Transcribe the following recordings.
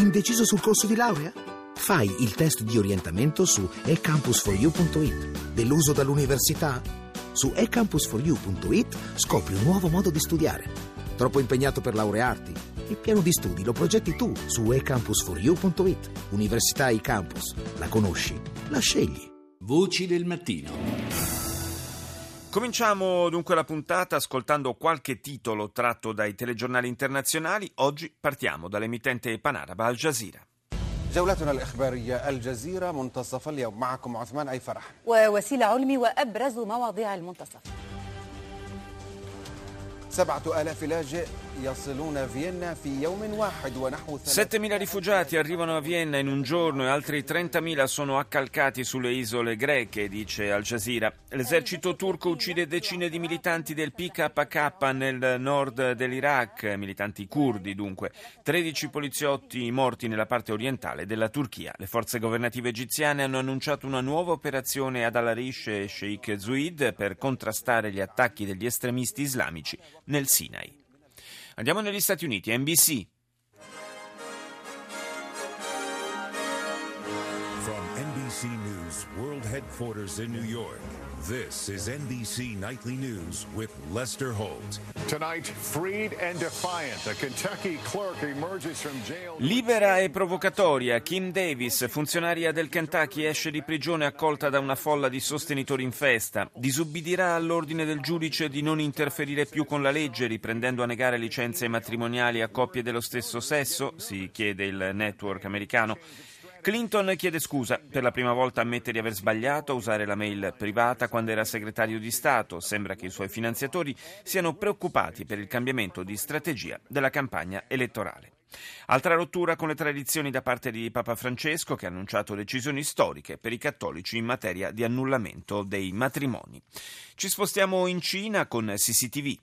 Indeciso sul corso di laurea? Fai il test di orientamento su ecampus4u.it. Deluso dall'università? Su ecampus4u.it scopri un nuovo modo di studiare. Troppo impegnato per laurearti? Il piano di studi lo progetti tu su ecampus4u.it. Università eCampus. La conosci? La scegli. Voci del mattino. Cominciamo dunque la puntata ascoltando qualche titolo tratto dai telegiornali internazionali. Oggi partiamo dall'emittente panaraba Al Jazeera. جولتنا الإخبارية الجزيرة منتصف اليوم معكم عثمان أي فرح ووسيلة علمي وأبرز مواضيع المنتصف 7,000 لاجئ يصلون فيينا في يوم واحد ونحو 7.000 rifugiati arrivano a Vienna in un giorno e altri 30.000 sono accalcati sulle isole greche, dice Al Jazeera. L'esercito turco uccide decine di militanti del PKK nel nord dell'Iraq, militanti curdi dunque. 13 poliziotti morti nella parte orientale della Turchia. Le forze governative egiziane hanno annunciato una nuova operazione ad Al-Arish e Sheikh Zayed per contrastare gli attacchi degli estremisti islamici nel Sinai. Andiamo negli Stati Uniti, NBC. From NBC News World Headquarters in New York, this is NBC Nightly News with Lester Holt. Tonight, freed and defiant, a Kentucky clerk emerges from jail. Libera e provocatoria, Kim Davis, funzionaria del Kentucky, esce di prigione accolta da una folla di sostenitori in festa. Disubbidirà all'ordine del giudice di non interferire più con la legge, riprendendo a negare licenze matrimoniali a coppie dello stesso sesso, si chiede il network americano. Clinton chiede scusa, per la prima volta ammette di aver sbagliato a usare la mail privata quando era segretario di Stato. Sembra che i suoi finanziatori siano preoccupati per il cambiamento di strategia della campagna elettorale. Altra rottura con le tradizioni da parte di Papa Francesco, che ha annunciato decisioni storiche per i cattolici in materia di annullamento dei matrimoni. Ci spostiamo in Cina con CCTV.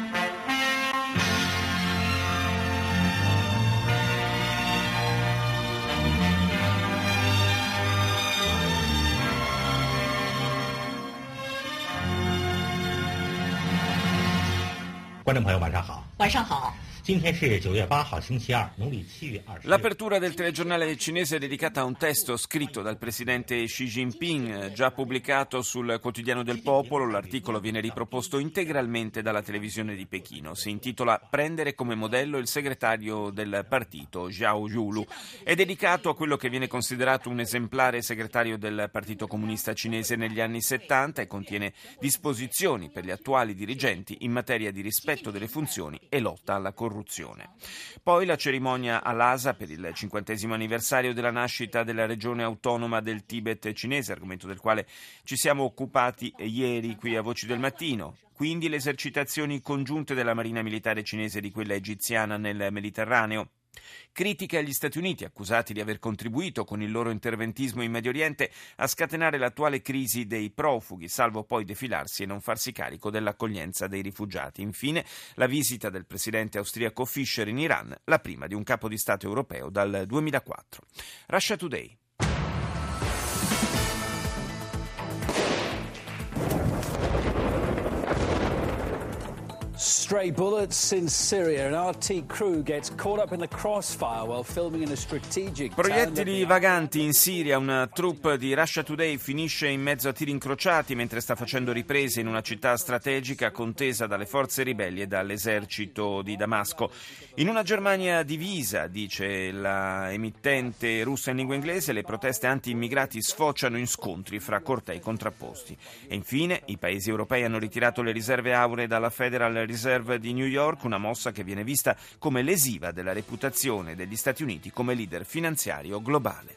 L'apertura del telegiornale cinese è dedicata a un testo scritto dal presidente Xi Jinping, già pubblicato sul Quotidiano del Popolo. L'articolo viene riproposto integralmente dalla televisione di Pechino. Si intitola "Prendere come modello il segretario del partito, Zhao Yulu". È dedicato a quello che viene considerato un esemplare segretario del Partito Comunista Cinese negli anni 70 e contiene disposizioni per gli attuali dirigenti in materia di rispetto delle funzioni e lotta alla corruzione. Poi la cerimonia a Lhasa per il 50° anniversario della nascita della regione autonoma del Tibet cinese, argomento del quale ci siamo occupati ieri qui a Voci del Mattino. Quindi le esercitazioni congiunte della Marina Militare cinese e di quella egiziana nel Mediterraneo. Critiche agli Stati Uniti, accusati di aver contribuito con il loro interventismo in Medio Oriente a scatenare l'attuale crisi dei profughi, salvo poi defilarsi e non farsi carico dell'accoglienza dei rifugiati. Infine, la visita del presidente austriaco Fischer in Iran, la prima di un capo di Stato europeo dal 2004. Russia Today. Stray bullets in Syria. An RT crew gets caught up in the crossfire while filming in a strategic town. Proiettili vaganti in Siria. Una troupe di Russia Today finisce in mezzo a tiri incrociati mentre sta facendo riprese in una città strategica contesa dalle forze ribelli e dall'esercito di Damasco. In una Germania divisa, dice la emittente russa in lingua inglese, le proteste anti-immigrati sfociano in scontri fra cortei contrapposti. E infine, i paesi europei hanno ritirato le riserve auree dalla Federal Reserve di New York, una mossa che viene vista come lesiva della reputazione degli Stati Uniti come leader finanziario globale.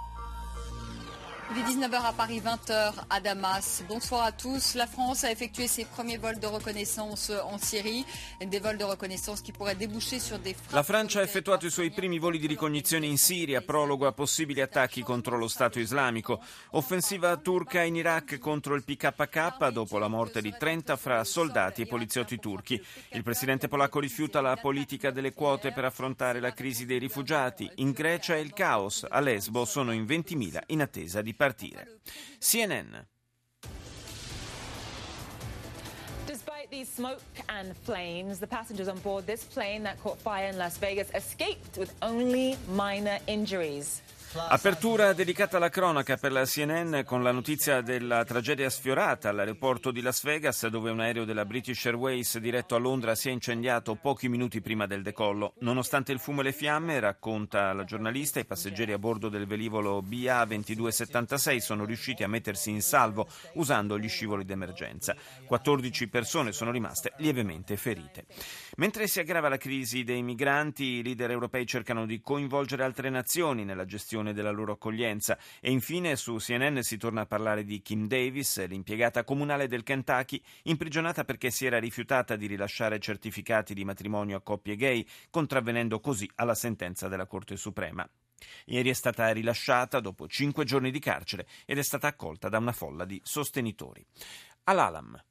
Il est 19h à Paris, 20h à Damas. Bonsoir à tous. La France a effectué ses premiers vols de reconnaissance en Syrie, des vols de reconnaissance qui pourraient déboucher sur des frappes. La Francia ha effettuato i suoi primi voli di ricognizione in Siria, prologo a possibili attacchi contro lo Stato islamico. Offensiva turca in Iraq contro il PKK dopo la morte di 30 fra soldati e poliziotti turchi. Il presidente polacco rifiuta la politica delle quote per affrontare la crisi dei rifugiati. In Grecia è il caos. A Lesbo sono in 20.000 in attesa di partire. CNN. these smoke and flames, the passengers on board this plane that caught fire in Las Vegas escaped with only minor injuries. Apertura dedicata alla cronaca per la CNN con la notizia della tragedia sfiorata all'aeroporto di Las Vegas, dove un aereo della British Airways diretto a Londra si è incendiato pochi minuti prima del decollo. Nonostante il fumo e le fiamme, racconta la giornalista, i passeggeri a bordo del velivolo BA-2276 sono riusciti a mettersi in salvo usando gli scivoli d'emergenza. 14 persone sono rimaste lievemente ferite. Mentre si aggrava la crisi dei migranti, i leader europei cercano di coinvolgere altre nazioni nella gestione della loro accoglienza. E infine su CNN si torna a parlare di Kim Davis, l'impiegata comunale del Kentucky, imprigionata perché si era rifiutata di rilasciare certificati di matrimonio a coppie gay, contravvenendo così alla sentenza della Corte Suprema. Ieri è stata rilasciata dopo 5 giorni di carcere ed è stata accolta da una folla di sostenitori. Al-Alam.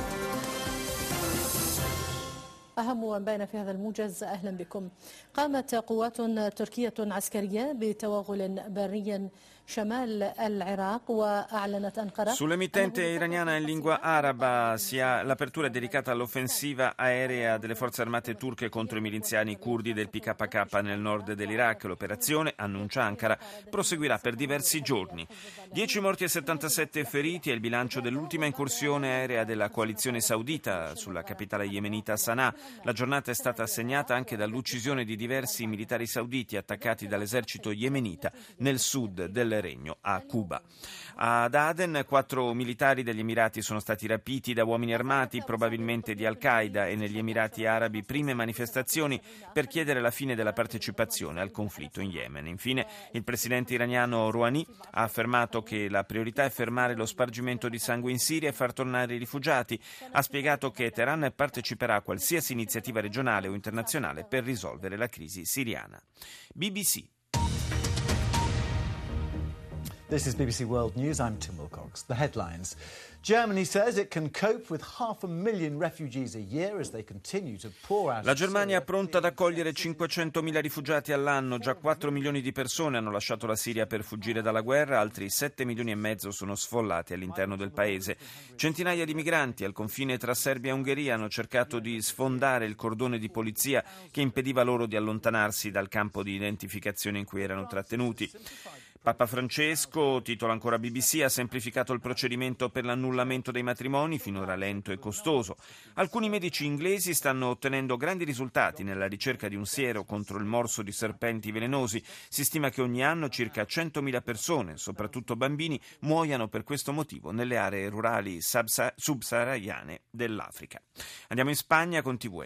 أهم أنبائنا في هذا الموجز أهلا بكم. قامت قوات تركية عسكرية بتوغل بري شمال العراق وأعلنت أنقرة. Sull'emittente iraniana in lingua araba l'apertura è dedicata all'offensiva aerea delle forze armate turche contro i miliziani curdi del PKK nel nord dell'Iraq. L'operazione, annuncia Ankara, proseguirà per diversi giorni. 10 morti e 77 feriti è il bilancio dell'ultima incursione aerea della coalizione saudita sulla capitale yemenita Sana'a. La giornata è stata segnata anche dall'uccisione di diversi militari sauditi attaccati dall'esercito yemenita nel sud del regno, a Cuba. Ad Aden 4 militari degli Emirati sono stati rapiti da uomini armati, probabilmente di Al-Qaeda, e negli Emirati Arabi prime manifestazioni per chiedere la fine della partecipazione al conflitto in Yemen. Infine, il presidente iraniano Rouhani ha affermato che la priorità è fermare lo spargimento di sangue in Siria e far tornare i rifugiati. Ha spiegato che Teheran parteciperà a qualsiasi iniziativa regionale o internazionale per risolvere la crisi siriana. BBC. This is BBC World News. I'm Tim Wilcox. The headlines. Germany says it can cope with 500,000 refugees a year as they continue to pour out. La Germania è pronta ad accogliere 500.000 rifugiati all'anno. Già 4 milioni di persone hanno lasciato la Siria per fuggire dalla guerra, altri 7 milioni e mezzo sono sfollati all'interno del paese. Centinaia di migranti al confine tra Serbia e Ungheria hanno cercato di sfondare il cordone di polizia che impediva loro di allontanarsi dal campo di identificazione in cui erano trattenuti. Papa Francesco, titola ancora BBC, ha semplificato il procedimento per l'annullamento dei matrimoni, finora lento e costoso. Alcuni medici inglesi stanno ottenendo grandi risultati nella ricerca di un siero contro il morso di serpenti velenosi. Si stima che ogni anno circa 100.000 persone, soprattutto bambini, muoiano per questo motivo nelle aree rurali subsahariane dell'Africa. Andiamo in Spagna con TVE.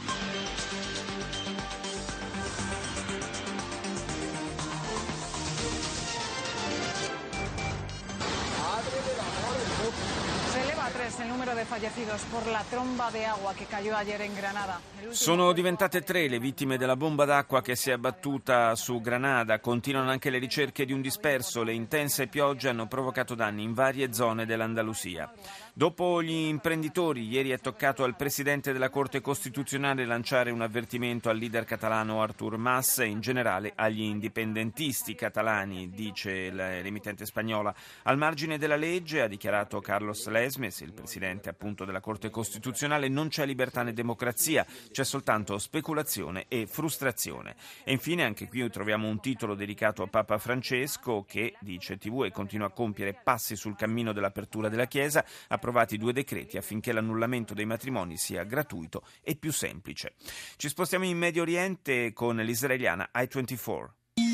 Sono diventate 3 le vittime della bomba d'acqua che si è abbattuta su Granada. Continuano anche le ricerche di un disperso. Le intense piogge hanno provocato danni in varie zone dell'Andalusia. Dopo gli imprenditori, ieri è toccato al presidente della Corte Costituzionale lanciare un avvertimento al leader catalano Artur Mas e in generale agli indipendentisti catalani, dice l'emittente spagnola. Al margine della legge, ha dichiarato Carlos Lesmes, il presidente appunto della Corte Costituzionale, non c'è libertà né democrazia, c'è soltanto speculazione e frustrazione. E infine anche qui troviamo un titolo dedicato a Papa Francesco che, dice TVE, continua a compiere passi sul cammino dell'apertura della Chiesa, approvati 2 decreti affinché l'annullamento dei matrimoni sia gratuito e più semplice. Ci spostiamo in Medio Oriente con l'israeliana I-24.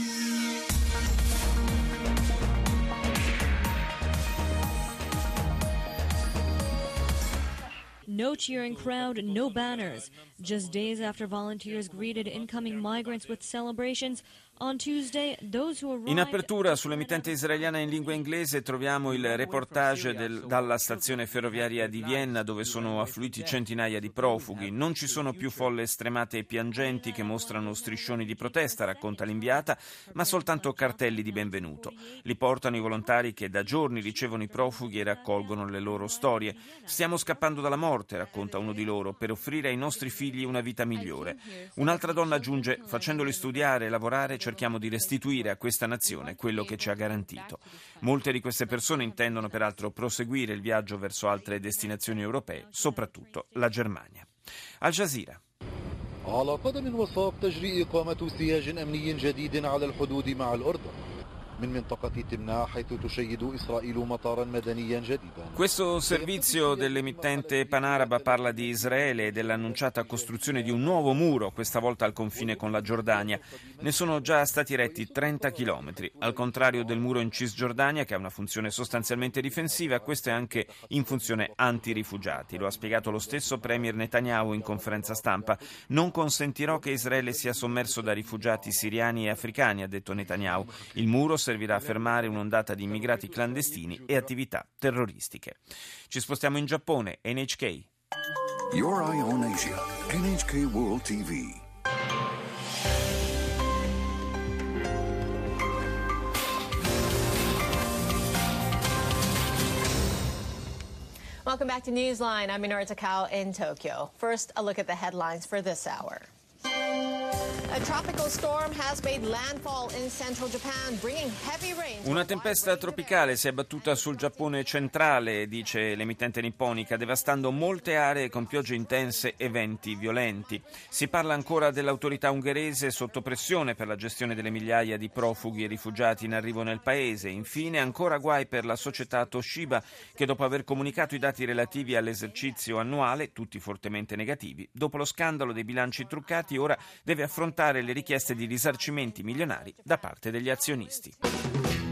No cheering crowd, no banners. Just days after volunteers greeted incoming migrants with celebrations, on Tuesday, those who arrived... In apertura sull'emittente israeliana in lingua inglese troviamo il reportage dalla stazione ferroviaria di Vienna, dove sono affluiti centinaia di profughi. Non ci sono più folle stremate e piangenti che mostrano striscioni di protesta, racconta l'inviata, ma soltanto cartelli di benvenuto. Li portano i volontari che da giorni ricevono i profughi e raccolgono le loro storie. Stiamo scappando dalla morte, racconta uno di loro, per offrire ai nostri figli una vita migliore. Un'altra donna aggiunge: facendoli studiare e lavorare cerchiamo di restituire a questa nazione quello che ci ha garantito. Molte di queste persone intendono peraltro proseguire il viaggio verso altre destinazioni europee, soprattutto la Germania. Al Jazeera. على قدم وساق تجري إقامة سياج أمني جديد على الحدود مع الأردن. Questo servizio dell'emittente panaraba parla di Israele e dell'annunciata costruzione di un nuovo muro, questa volta al confine con la Giordania. Ne sono già stati eretti 30 chilometri. Al contrario del muro in Cisgiordania, che ha una funzione sostanzialmente difensiva, questo è anche in funzione anti-rifugiati. Lo ha spiegato lo stesso Premier Netanyahu in conferenza stampa. Non consentirò che Israele sia sommerso da rifugiati siriani e africani, ha detto Netanyahu. Il muro servirà a fermare un'ondata di immigrati clandestini e attività terroristiche. Ci spostiamo in Giappone, NHK. Your Eye on Asia, NHK World TV. Welcome back to Newsline. I'm Minoru Takao in Tokyo. First, a look at the headlines for this hour. Una tempesta tropicale si è abbattuta sul Giappone centrale, dice l'emittente nipponica, devastando molte aree con piogge intense e venti violenti. Si parla ancora dell'autorità ungherese sotto pressione per la gestione delle migliaia di profughi e rifugiati in arrivo nel paese. Infine ancora guai per la società Toshiba, che dopo aver comunicato i dati relativi all'esercizio annuale, tutti fortemente negativi, dopo lo scandalo dei bilanci truccati, ora deve affrontare le richieste di risarcimenti milionari da parte degli azionisti.